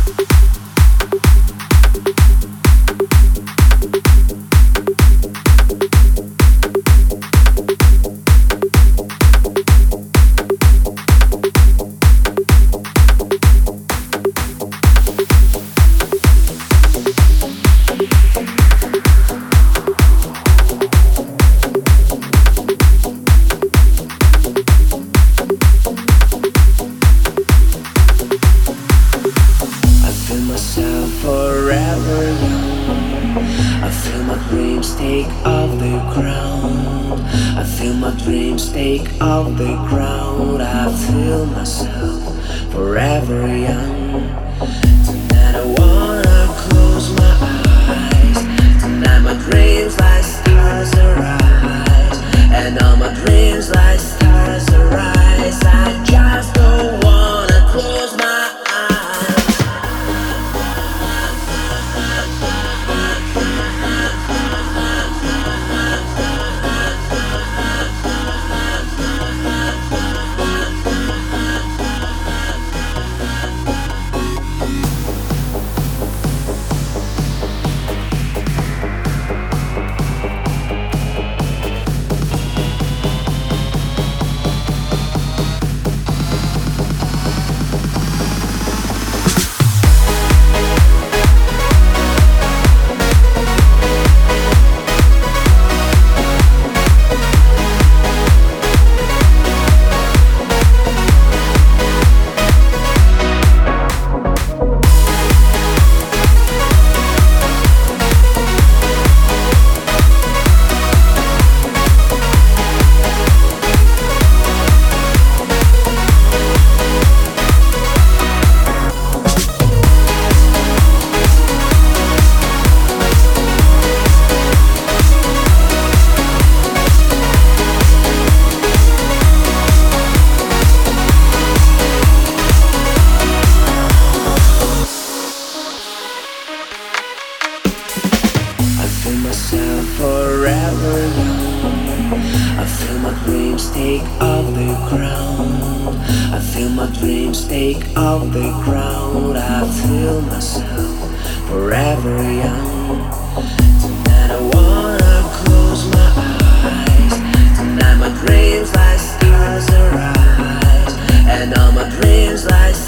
Forever young, I feel my dreams take off the ground. I feel my dreams take off the ground. I feel myself forever young. Tonight I wanna close my eyes. Tonight my dreams like stars arise, and all my dreams like stars arise. I just don't wanna close my eyes. Forever young, I feel my dreams take off the ground. I feel my dreams take off the ground. I feel myself forever young. Tonight I wanna close my eyes. Tonight my dreams like stars arise, and all my dreams like